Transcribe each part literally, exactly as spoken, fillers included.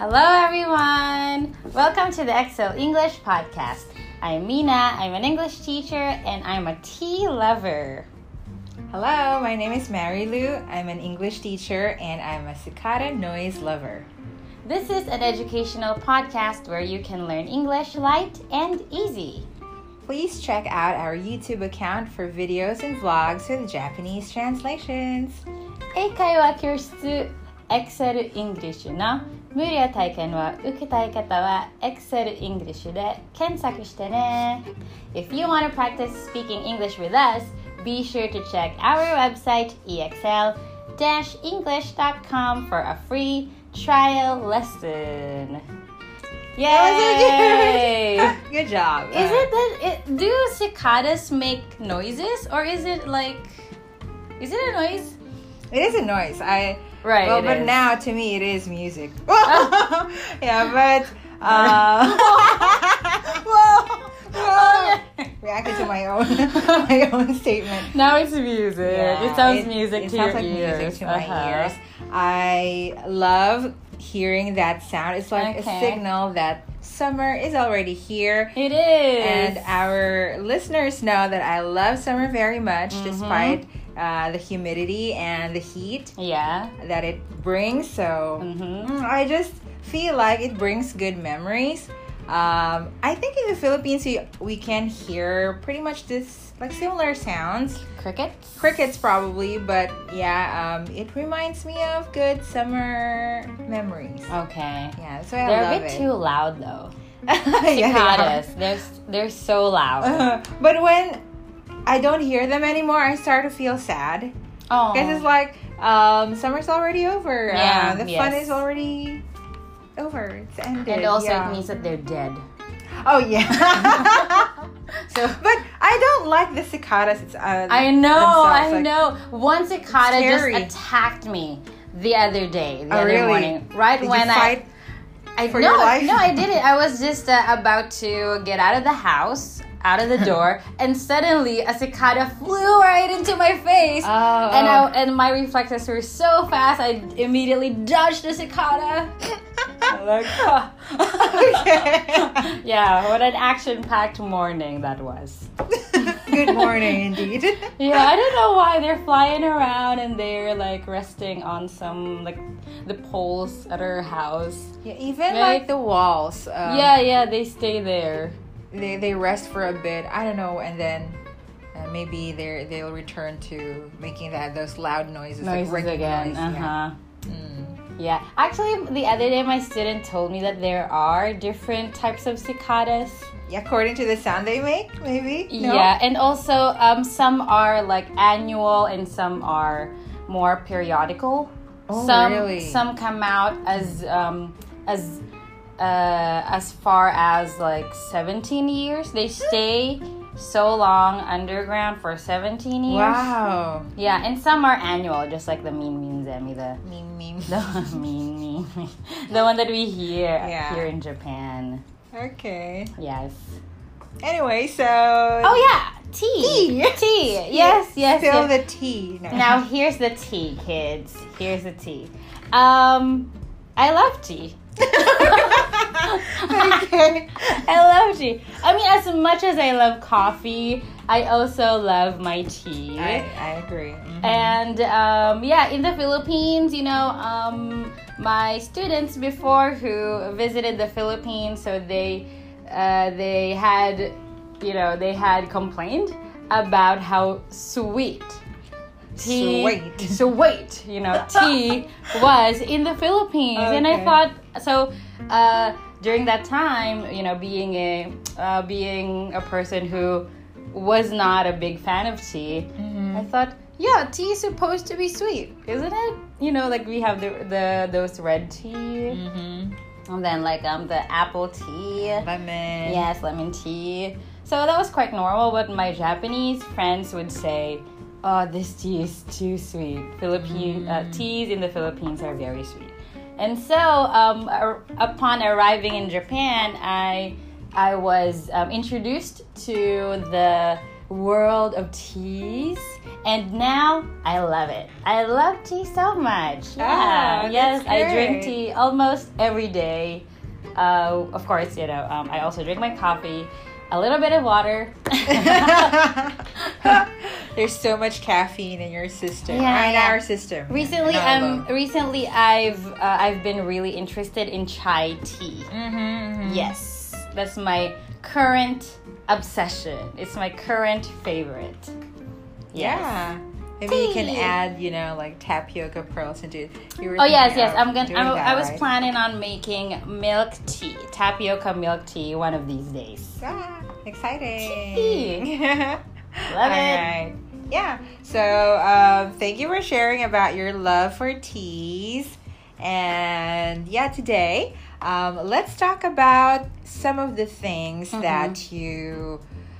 Hello, everyone. Welcome to the Excel English podcast. I'm Mina. I'm an English teacher, and I'm a tea lover. Hello, my name is Mary Lou. I'm an English teacher, and I'm a cicada noise lover. This is an educational podcast where you can learn English light and easy. Please check out our YouTube account for videos and vlogs with Japanese translations. 英会話教室 Excel English の無料体験を受けたい方は Excel English で検索してね。If you want to practice speaking English with us, be sure to check our website e x l dash english dot com for a free trial lesson. Yay! Good job. Is it that it, do cicadas make noises, or is it like is it a noise? It is a noise. I Right. Well, it but is. now to me it is music. Yeah, but uh, whoa, whoa. Reacted to my own my own statement. Now it's music. Yeah, it sounds it, music it to sounds your like ears. music to my Uh-huh. ears. I love hearing that sound. It's like Okay. a signal that summer is already here. It is. And our listeners know that I love summer very much, Mhm. despite uh, the humidity and the heat yeah. that it brings. So Mhm. mm, I just feel like it brings good memories. Um, I think in the Philippines we, we can hear pretty much this like similar sounds. Crickets. Crickets probably, but yeah, um, it reminds me of good summer memories. Okay. Yeah, so I They're love a bit it. too loud though. Yeah, they are. Cicadas. they're they're so loud. Uh, but when I don't hear them anymore, I start to feel sad. Oh. Because it's like um, summer's already over. Yeah, uh, the yes. fun is already over. It's ended. And also yeah. it means that they're dead. Oh yeah. So But I don't like the cicadas. It's, uh, I know, themselves, I like- know. One cicada just scary. attacked me the other day, the Oh, other really? morning, right Did when you fight I, I for no, your life? no, I didn't. I was just uh, about to get out of the house, out of the door, and suddenly a cicada flew right into my face. Oh, and oh. I, and my reflexes were so fast, I immediately dodged the cicada. Like, huh. Okay. Yeah, what an action-packed morning that was. Good morning, indeed. Yeah, I don't know why they're flying around and they're like resting on some like the poles at our house. Yeah, even Right? like the walls. Um, yeah, yeah, they stay there. they they rest for a bit. I don't know, and then uh, maybe they they'll return to making that those loud noises, Noises like ringing again. noise. Uh huh. Yeah. Mm. Yeah. Actually, the other day my student told me that there are different types of cicadas. Yeah, according to the sound they make, maybe. No? Yeah, and also um, some are like annual and some are more periodical. Oh, some really? some come out as um, as uh, as far as like seventeen years. They stay so long underground for seventeen years. Wow. Yeah, and some are annual, just like the mean mean zemi, the Meme, meme. the mean mean, the one that we hear Yeah. here in Japan. Okay. Yes. Anyway, so. Oh yeah, tea. Tea. Tea. Yes, yes. Spill yes. the tea. No. Now here's the tea, kids. Here's the tea. Um, I love tea. Okay. I love tea. I mean, as much as I love coffee, I also love my tea. I, I agree. Mhm. And um, yeah, in the Philippines, you know, um, my students before who visited the Philippines, so they uh, they had, you know, they had complained about how sweet tea, Sweet. sweet, you know, tea was in the Philippines, and I Okay. thought so. Uh, during that time, you know, being a uh, being a person who was not a big fan of tea, Mhm. I thought, yeah, tea is supposed to be sweet, isn't it? You know, like we have the the those red tea, Mhm. and then like um the apple tea. Lemon. Yes, lemon tea. So that was quite normal, but my Japanese friends would say, "Oh, this tea is too sweet. Philippine uh, teas in the Philippines are very sweet." And so, um, ar- upon arriving in Japan, I I was um, introduced to the world of teas, and now I love it. I love tea so much. Yeah, Oh, yes, that's I drink great. tea almost every day. Uh, of course, you know, um, I also drink my coffee, a little bit of water. There's so much caffeine in your system. Yeah, or in yeah. our system. Recently, Not um, alone. recently I've uh, I've been really interested in chai tea. Mhm, mhm. Yes, that's my current obsession. It's my current favorite. Yes. Yeah. Maybe you can Tea. add, you know, like tapioca pearls into it. You were Oh yes, thinking yes. of I'm gonna. doing I'm, that, I was right? planning on making milk tea, tapioca milk tea, one of these days. Ah, exciting. Tea. Love Love it. Right. Yeah. So, um, thank you for sharing about your love for teas. And yeah, today, um, let's talk about some of the things Mhm. that you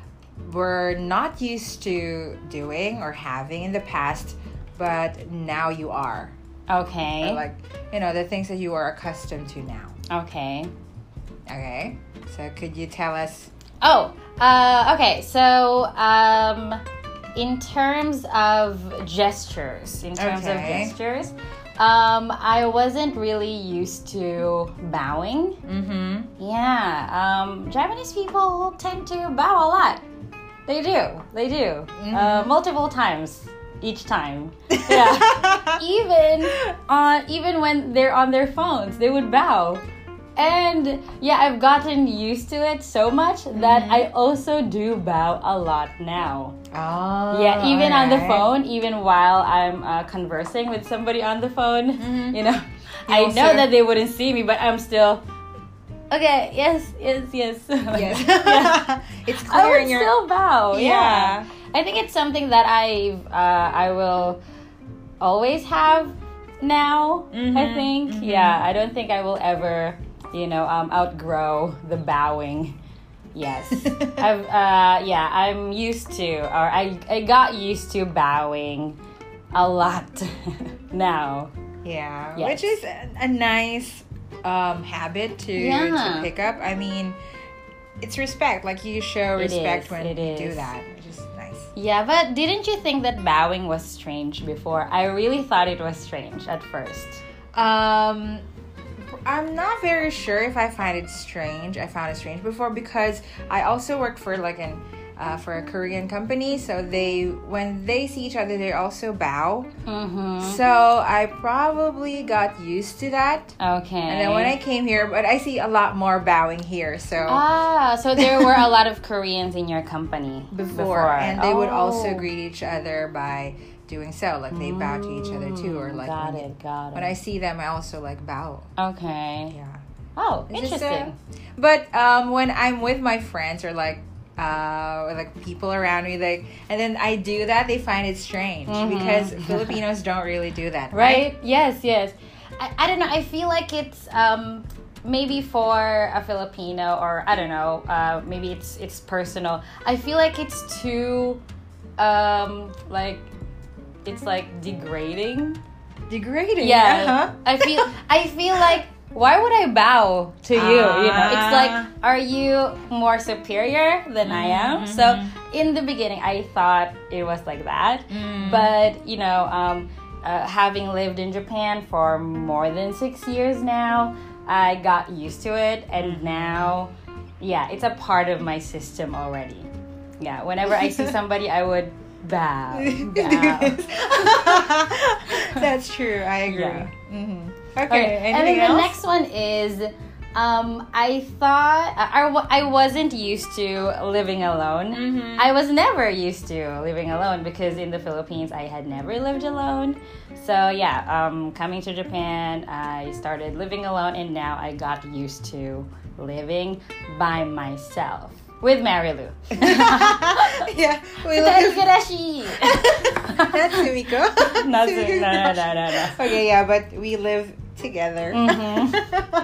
were not used to doing or having in the past, but now you are. Okay. Or like, you know, the things that you are accustomed to now. Okay. Okay. So, could you tell us? Oh. Uh. Okay. So. Um. In terms of gestures, in terms of Okay. gestures, um, I wasn't really used to bowing. Mm-hmm. Yeah, um, Japanese people tend to bow a lot. They do, they do, uh, multiple times each time. Yeah, even on even when they're on their phones, they would bow. And yeah, I've gotten used to it so much that I also do bow a lot now. Oh, Yeah, even on the alright. phone, even while I'm uh, conversing with somebody on the phone, Mhm. you know, You I also- know that they wouldn't see me, but I'm still, okay, yes, yes, yes. Yes. Yeah. It's I clear would in your. still bow. Yeah. Yeah. I think it's something that I've, uh, I will always have now. I Mhm, think. mhm. Yeah. I don't think I will ever, you know, um, outgrow the bowing. Yes. I've uh yeah, I'm used to or I I got used to bowing a lot now. Yeah, Yes. which is a, a nice um, habit to Yeah. to pick up. I mean, it's respect. Like you show It respect is, when it you do is. that, which is nice. Yeah, but didn't you think that bowing was strange before? I really thought it was strange at first. Um, I'm not very sure if I find it strange. I found it strange before because I also worked for like an uh, for a Korean company. So they when they see each other, they also bow. Mm-hmm. So I probably got used to that. Okay. And then when I came here, but I see a lot more bowing here. So Ah, so there were a lot of Koreans in your company before, and they would also Oh. greet each other by doing so, like they bow to each other too, or like got when, it, got it. when I see them, I also like bow. Okay. Yeah. Oh, It's just, uh, interesting. But um, when I'm with my friends or like uh, or like people around me, like, and then I do that, they find it strange Mhm. because Filipinos don't really do that, Right? Yes, yes. I, I don't know. I feel like it's um maybe for a Filipino or I don't know. Uh, maybe it's it's personal. I feel like it's too um like it's like degrading. Degrading. Yeah. Uh-huh. I feel I feel like why would I bow to you? You know, it's like, Ah. are you more superior than I am? Mhm. So in the beginning, I thought it was like that, Mm. but you know, um, uh, having lived in Japan for more than six years now, I got used to it, and now, yeah, it's a part of my system already. Yeah, whenever I see somebody, I would bow. bow. That's true. I agree. Yeah. hmm Okay, Okay. and Anything then the else? next one is, um, I thought I, I wasn't used to living alone. Mhm. I was never used to living alone because in the Philippines I had never lived alone. So yeah, um, coming to Japan, I started living alone, and now I got used to living by myself with Marilu. Yeah. We look at- Igarashi. That's Sumiko. Not Sumiko's Sumi- no, no, not- no, no, no. Okay, yeah, but we live together. Mhm.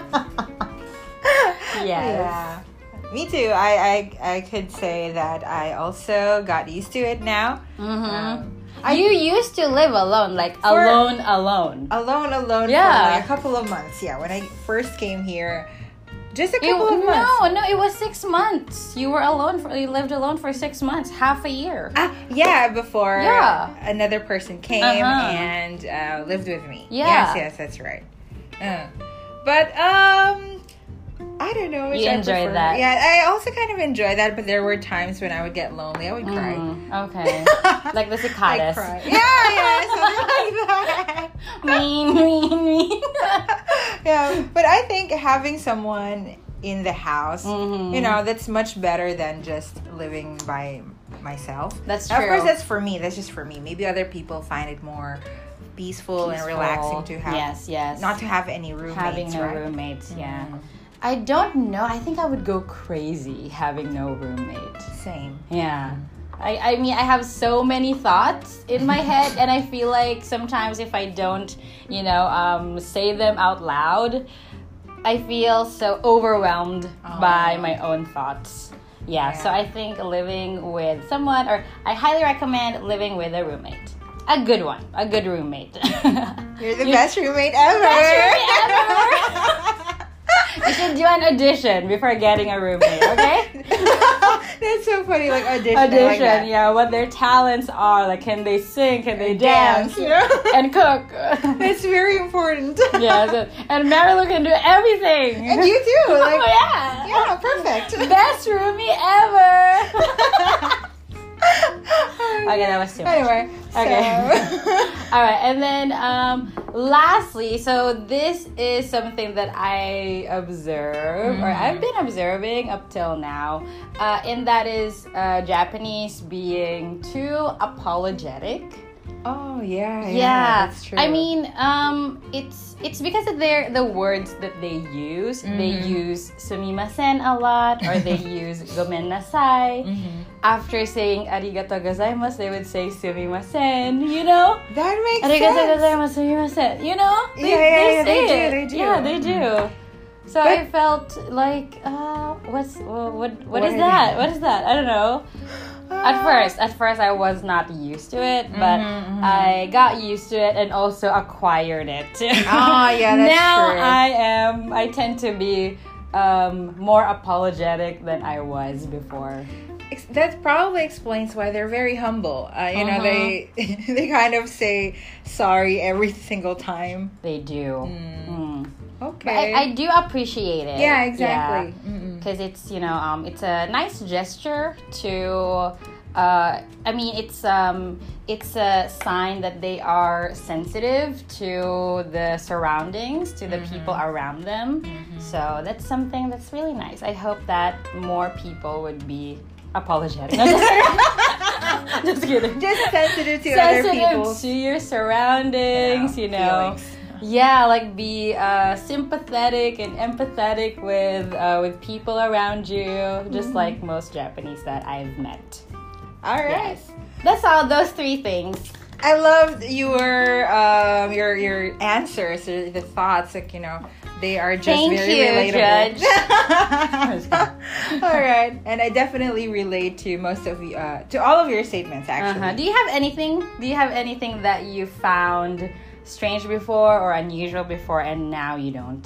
Yes. Yeah. Me too. I, I I could say that I also got used to it now. Mm-hmm. Um, I You used to live alone, like For- alone, alone. alone, alone Yeah. for like a couple of months. Yeah, when I first came here, Just a It- couple of months. no, no, it was six months. You were alone for you lived alone for six months, half a year. Ah, yeah, before Yeah. another person came Uh-huh. and uh, lived with me. Yeah. Yes, yes, that's right. Uh, but um, I don't know. Which You I enjoyed prefer. that. Yeah, I also kind of enjoy that. But there were times when I would get lonely. I would cry. Mm, okay. Like the I cicadas. cry. Yeah, yeah, something like that. mean, mean, mean. Yeah, but I think having someone in the house, Mhm. you know, that's much better than just living by myself. That's Of true. course, that's for me. That's just for me. Maybe other people find it more peaceful, and Peaceful. relaxing to have. Yes, yes. Not to have any roommates, having no right? roommates. Yeah. Mhm. I don't know. I think I would go crazy having no roommate. Same. Yeah. I, I mean, I have so many thoughts in my head, and I feel like sometimes if I don't, you know, um, say them out loud, I feel so overwhelmed Oh. by my own thoughts. Yeah, so Yeah. I think living with someone, or I highly recommend living with a roommate. A good one, a good roommate. You're the best roommate ever. Best roommate ever. You should do an audition before getting a roommate, okay? That's so funny. Like audition. I like Audition, that. yeah, what their talents are. Like, can they sing? Can they dance? Dance, you know? And cook? That's very important. Yeah, so, and Marilu can do everything. And you too. Like, oh, yeah. yeah, perfect. Best roomie ever. Okay, that was too much. Anyway, Okay. so- All right, and then um, lastly, so this is something that I observe, or I've been observing up till now, uh, and that is uh, Japanese being too apologetic. Oh yeah, yeah, Yeah, that's true. I mean, um, it's it's because of their the words that they use. They use sumimasen a lot, or they use gomennasai. Mhm. After saying arigatou gozaimasu, they would say sumimasen. You know, that makes arigatou sense. gozaimasu, sumimasen. You know, they, Yeah, yeah, they yeah, say they do, it. they do. Yeah, they do. So But- I felt like, uh, what's what what, what What is are that? they? What is that? I don't know. At first, at first I was not used to it, but Mhm, mhm. I got used to it and also acquired it. Ah, yeah, that's now true. I am. I tend to be um, more apologetic than I was before. Ex- that probably explains why they're very humble. Uh, you know, Uh-huh. they they kind of say sorry every single time. They do. Mm. Mm. Okay. But I, I do appreciate it. yeah, exactly. Mm-mm. Because it's you know um, it's a nice gesture to. Uh, I mean, it's um, it's a sign that they are sensitive to the surroundings, to the people around them. So that's something that's really nice. I hope that more people would be apologetic. No, just kidding. Just kidding. Just sensitive to other Sensitive people's to your surroundings, yeah, you know. feelings. Yeah, like be uh, sympathetic and empathetic with uh, with people around you, just like most Japanese that I've met. All right. Yes, that's all. Those three things. I loved your um your your answers, or the thoughts. Like, you know, they are just Thank very you, relatable. Judge. All right, and I definitely relate to most of you, uh, to all of your statements. Actually, Uh-huh. Do you have anything? Do you have anything that you found strange before or unusual before, and now you don't?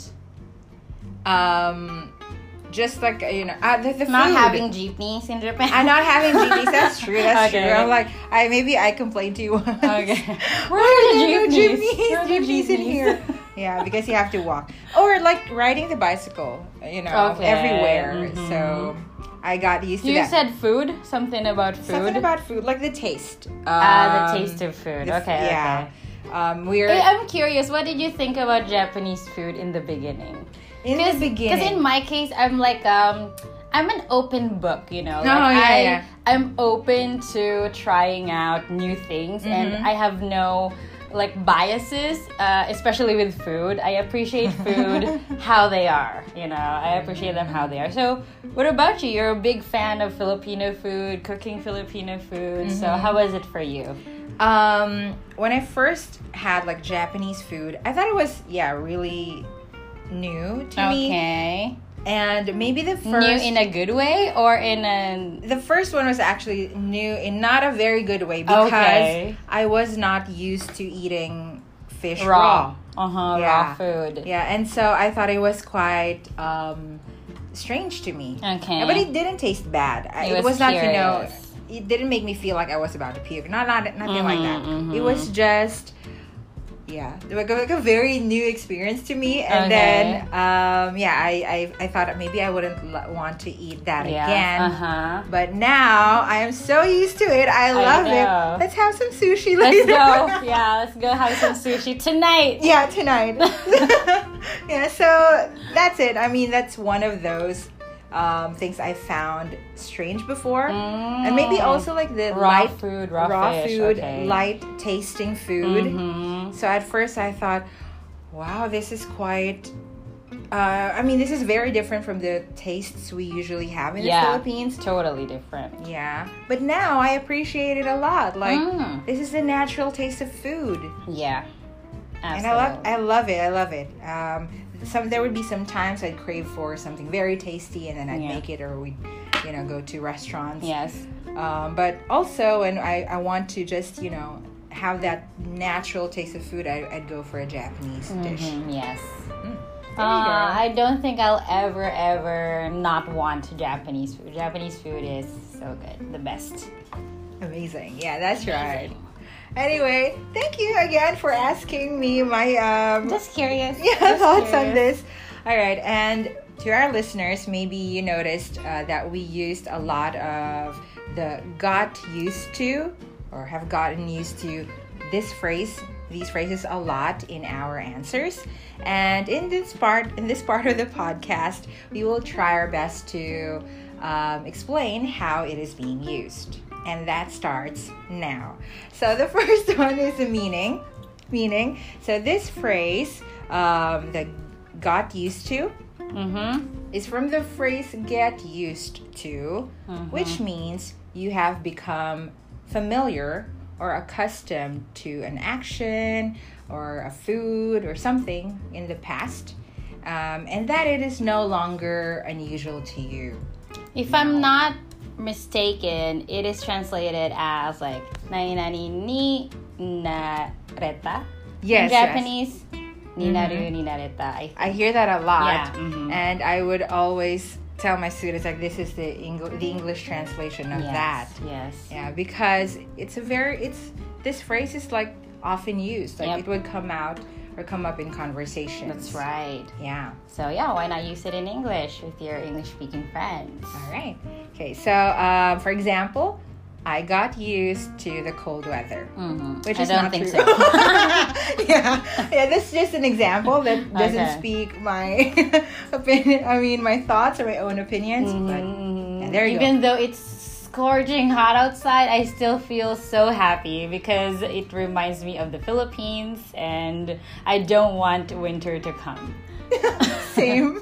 um, just like you know, uh, the, the Not food. having jeepneys in Japan. I'm not having jeepneys. That's true. That's Okay. true. I'm like, I maybe I complained to you once. Okay. Where Where are are the the jeepneys? jeepneys? Where are the Jeepneys in jeepneys? here. Yeah, because you have to walk, or like riding the bicycle. You know, Okay. everywhere. Mhm. So I got used to You that. said food. Something about food. Something about food, like the taste. Ah, Um, the taste of food. the f- Okay. yeah. Okay. Um, we're Hey, I'm curious. What did you think about Japanese food in the beginning? in the beginning. Because in my case, I'm like um, I'm an open book. You know, like Oh, yeah, I, yeah. I'm open to trying out new things, and Mhm. I have no like biases, uh, especially with food. I appreciate food how they are. You know, I appreciate them how they are. So, what about you? You're a big fan of Filipino food, cooking Filipino food. So, Mhm. how was it for you? Um, when I first had like Japanese food, I thought it was yeah really new to me, Okay. and maybe the first New in a good way or in a the first one was actually new in not a very good way because Okay. I was not used to eating fish raw? raw. Uh huh. Yeah. Raw food. Yeah, and so I thought it was quite um, strange to me. Okay. But it didn't taste bad. I- It It was was not, you know, curious. it didn't make me feel like I was about to puke. Not, not nothing like that. Mhm, mhm. It was just, yeah, like a, like a very new experience to me. And Okay. then, um, yeah, I, I, I thought maybe I wouldn't l- want to eat that Yeah. again. Uh-huh. But now I am so used to it. I love know. it. Let's have some sushi Let's later. go. Yeah, let's go have some sushi tonight. Yeah, tonight. Yeah, so that's it. I mean, that's one of those um, things I found strange before. And maybe also like the Mm. Raw light food, raw fish, food, okay. light tasting food. Mhm. So at first I thought, wow, this is quite uh, I mean, this is very different from the tastes we usually have in Yeah, the Philippines. totally different. Yeah. But now I appreciate it a lot. Like Mm. this is the natural taste of food. Yeah, And absolutely. I love I love it. I love it. Um, some there would be some times I'd crave for something very tasty, and then I'd Yeah. make it, or we'd you know go to restaurants. Yes. Um, but also, when I, I want to just you know have that natural taste of food, I, I'd go for a Japanese dish. Mhm, yes. Mm. There you Uh, go. I don't think I'll ever, ever not want Japanese food. Japanese food is so good. The best. Amazing. Yeah, that's right. Anyway, thank you again for asking me my um, Just curious. yeah, Just thoughts on curious. this. All right, and to our listeners, maybe you noticed uh, that we used a lot of the got used to or have gotten used to this phrase, these phrases a lot in our answers. And in this part, in this part of the podcast, we will try our best to um, explain how it is being used. And that starts now. So the first one is the meaning. Meaning. So this phrase, um, the got used to, Mm-hmm. is from the phrase get used to, Mhm. which means you have become familiar or accustomed to an action or a food or something in the past, um, and that it is no longer unusual to you. If I'm not mistaken, it is translated as like nani nani ni nareta. Yes, In Japanese, ni naru ni nareta. I I hear that a lot, Yeah, mhm. and I would always tell my students like this is the Eng- the English translation of yes, that. Yes. Yeah, because it's a very it's this phrase is like often used. Like Yep. it would come out or come up in conversations. That's right. Yeah. So yeah, why not use it in English with your English-speaking friends? All right. Okay. So, um, for example, I got used to the cold weather, Mm-hmm. which I is don't not think true. so. yeah. Yeah. This is just an example that doesn't Okay. speak my opinion. I mean, my thoughts or my own opinions. But Mhm. yeah, there you Even go. though it's scorching hot outside, I still feel so happy because it reminds me of the Philippines and I don't want winter to come. Same.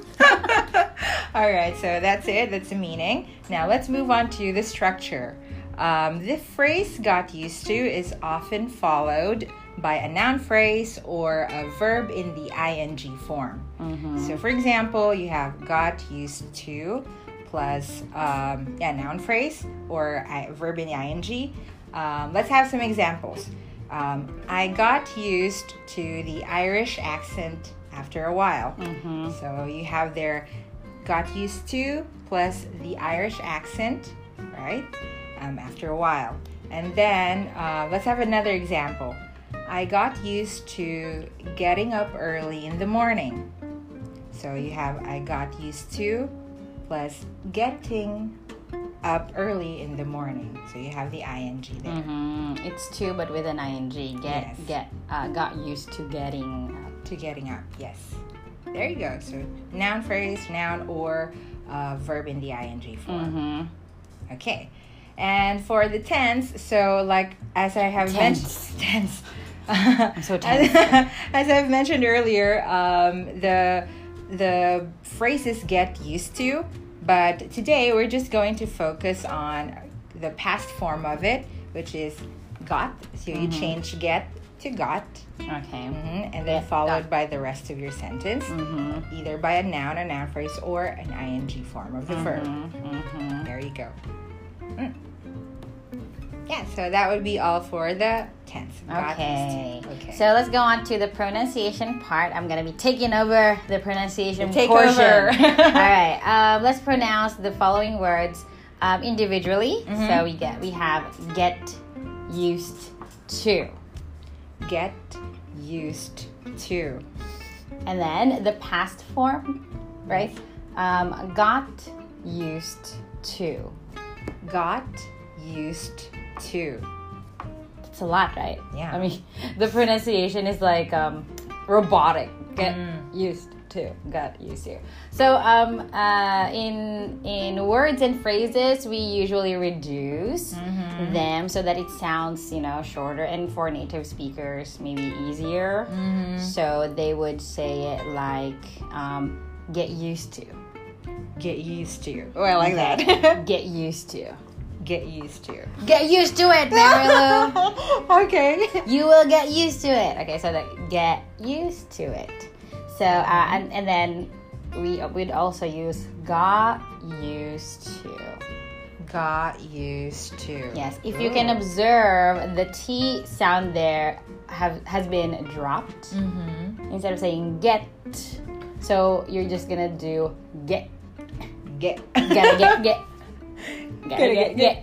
All right, so that's it. That's the meaning. Now let's move on to the structure. Um, the phrase got used to is often followed by a noun phrase or a verb in the ing form. Mhm. So, for example, you have got used to plus um, yeah, noun phrase or I, verb in the ing. Um, let's have some examples. Um, I got used to the Irish accent after a while. Mhm. So you have there got used to plus the Irish accent, right? Um, after a while. And then uh, let's have another example. I got used to getting up early in the morning. So you have I got used to plus getting up early in the morning. So you have the ing there. Mhm. It's two, but with an ing. Get Yes. get uh, got used to getting. To getting up, yes. There you go. So noun phrase, noun, or uh, verb in the ing form. Mm-hmm. Okay. And for the tense, so like as I have Tense. mentioned, tense. I'm so tense. As, as I've mentioned earlier, um, the the phrases get used to, but today we're just going to focus on the past form of it, which is got. So you Mhm. change get to got, Okay. hmm and then Get, followed got. by the rest of your sentence, Mm-hmm. either by a noun, a noun phrase, or an ing form of the verb. Mm-hmm. There you go. Mm. Yeah, so that would be all for the tense. Got Okay. used to. Okay. So let's go on to the pronunciation part. I'm gonna be taking over the pronunciation Take portion. over. All right. Um, let's pronounce the following words um, individually. Mhm. So we get we have get used to, Get used to. and then the past form, right? Um, got used to. Got used to. It's a lot, right? Yeah. I mean, the pronunciation is like um, robotic. Get Mm. used to. Got used to. So um, uh, in in words and phrases, we usually reduce Mhm. them so that it sounds, you know, shorter, and for native speakers, maybe easier. Mhm. So they would say it like um, get used to. Get used to. Oh, I like Okay. that. Get used to. Get used to. Get used to it, Marilu. Okay. You will get used to it. Okay, so that get used to it. So uh, and and then we we'd also use got used to. Got used to. Yes, if you Ooh. can observe, the T sound there have has been dropped Mm-hmm. instead of saying get. So you're just gonna do get. Get. Gotta get get. Gotta get get.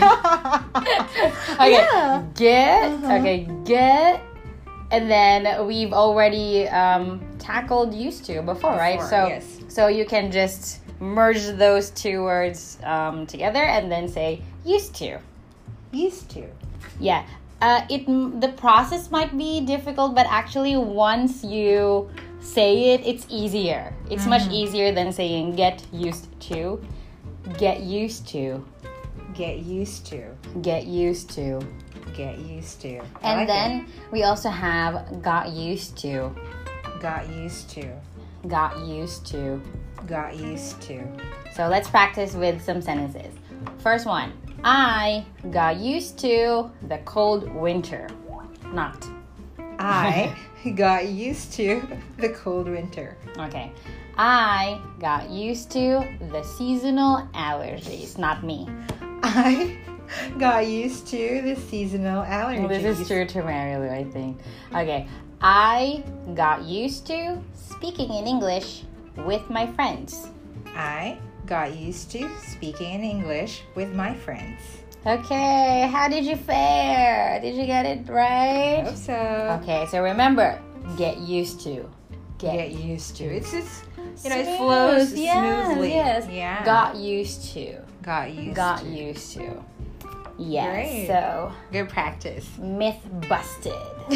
Okay, Yeah. get. Uh-huh. Okay, get. And then we've already um, tackled used to before, right? Before, So, yes. so you can just merge those two words um, together and then say used to. Used to. Yeah. Uh, it the process might be difficult, but actually once you say it, it's easier. It's much easier than saying get used to. Get used to. Get used to. Get used to. Get used to. I And like then we also have got used to. it. Got used to. Got used to. Got used to. So let's practice with some sentences. First one. I got used to the cold winter. Not. I got used to the cold winter. Okay. I got used to the seasonal allergies. Not me. I got used to the seasonal allergies. This is true to Marilu, I think. Okay. I got used to speaking in English with my friends. I got used to speaking in English with my friends. Okay, how did you fare? Did you get it I right? hope so. Okay, so remember, get used to. Get used to. It's just, you know, it Smooth, flows yes, smoothly. Yes. Yeah. Got used to. got used Got to. used to. Yes. Great. So Good practice. myth busted.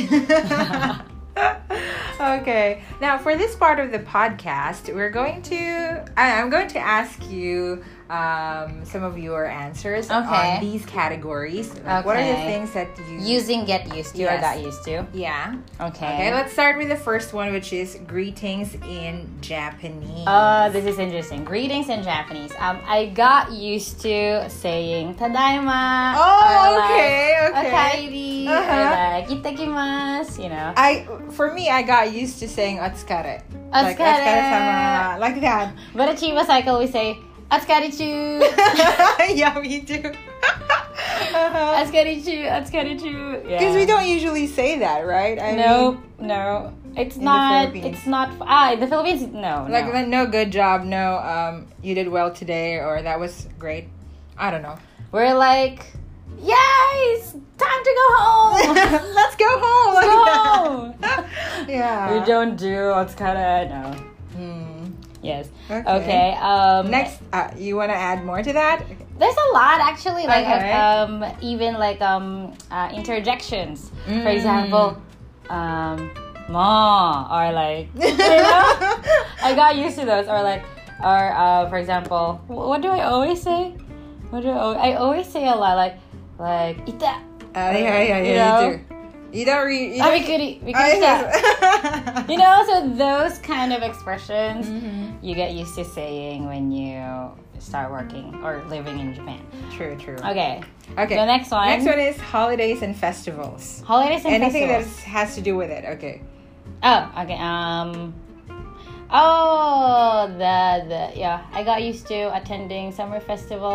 Okay. Now, for this part of the podcast, we're going to. I, I'm going to ask you um, some of your answers Okay. on these categories. Like, what are the Okay. things that you Using get used to or Yes. got used to. Yeah. Okay. Okay. Let's start with the first one, which is greetings in Japanese. Oh, this is interesting. Greetings in Japanese. Um, I got used to saying tadaima. Oh, or like, okay, okay. Okaeri, Uh-huh. or like itakimasu, you know. I for me, I got used to saying otsukare. Like Otsukare. otsukare-sama, like that. But at Chiba Cycle, we say otsukarichu. Yeah, me too. Uh-huh. Otsukarichu, otsukarichu. Yeah. Because we don't usually say that, right? I No, no. It's In the not. Philippines. It's not. Ah, in the Philippines, no. mean, like no. no good job, no um you did well today, or that was great. I don't know. We're like, yes, time to go home. Let's go home. Let's like go that. home. Yeah. We don't do otsukare. No. Hmm. Yes. Okay. Okay. Um, Next, uh, you want to add more to that? There's a lot actually, like Okay. um, even like um, uh, interjections. For Mm. example, um, ma, or like, you know, I got used to those. Or like, or uh, for example, wh- what do I always say? What do I, al- I always say a lot, like, like ita. Uh, yeah, yeah, yeah. You You, know? do. You don't read. You Ah, don't- bikuri, bikuri Oh, shita. yes. You know, so those kind of expressions Mhm. you get used to saying when you start working or living in Japan. True, true. Okay. Okay. The next one. Next one is holidays and festivals. Holidays and Anything festivals. that has to do with it. Okay. Oh, okay. Um. Oh, the the yeah. I got used to attending summer festivals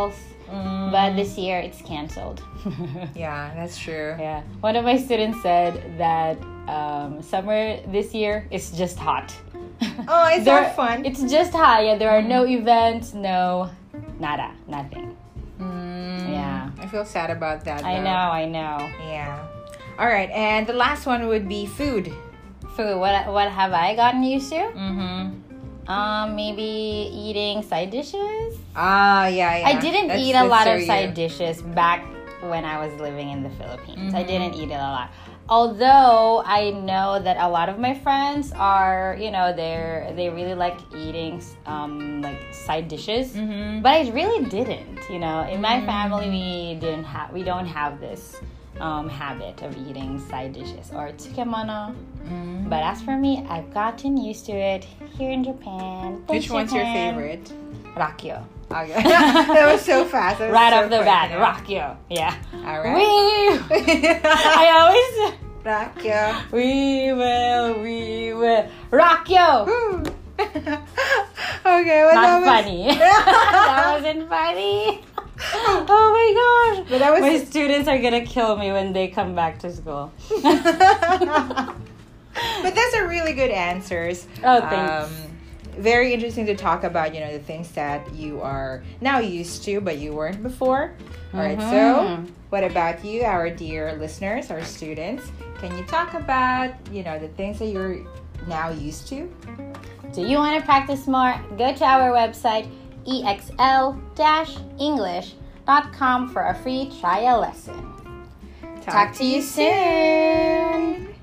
Mm. But this year it's canceled. Yeah, that's true. Yeah. One of my students said that um, summer this year is just hot. Oh, it's There- not fun. It's just hot. Yeah, there are no events, no nada, nothing. Mm, Yeah. I feel sad about that. I though. know, I know. Yeah. All right, and the last one would be food. Food. What what have I gotten used to? Mm-hmm. Um, maybe eating side dishes. Ah, yeah, yeah. I didn't That's- eat a that's lot so of side you. dishes back when I was living in the Philippines. I Mhm. didn't eat it a lot. Although I know that a lot of my friends are, you know, they're they really like eating um like side dishes. Mhm. But I really didn't, you know. In my family we didn't have we don't have this um habit of eating side dishes or tsukemono. Mm. But as for me, I've gotten used to it here in Japan. Thanks, Which one's your Japan. favorite? Rakyo. Okay. That was so fast. That was Right so off the quick, bat, yeah. Rakyo. Yeah. All right. We I always Rakyo. we will we will Rakyo. Woo. Okay, well, that Not was funny. That wasn't funny. Oh my gosh. But that was My students are gonna kill me when they come back to school. But those are really good answers. Oh, thanks. Um, very interesting to talk about, you know, the things that you are now used to, but you weren't before. All right, so Mhm. what about you, our dear listeners, our students? Can you talk about, you know, the things that you're now used to? Do you want to practice more? Go to our website e x l dash english dot com for a free trial lesson. Talk to you soon.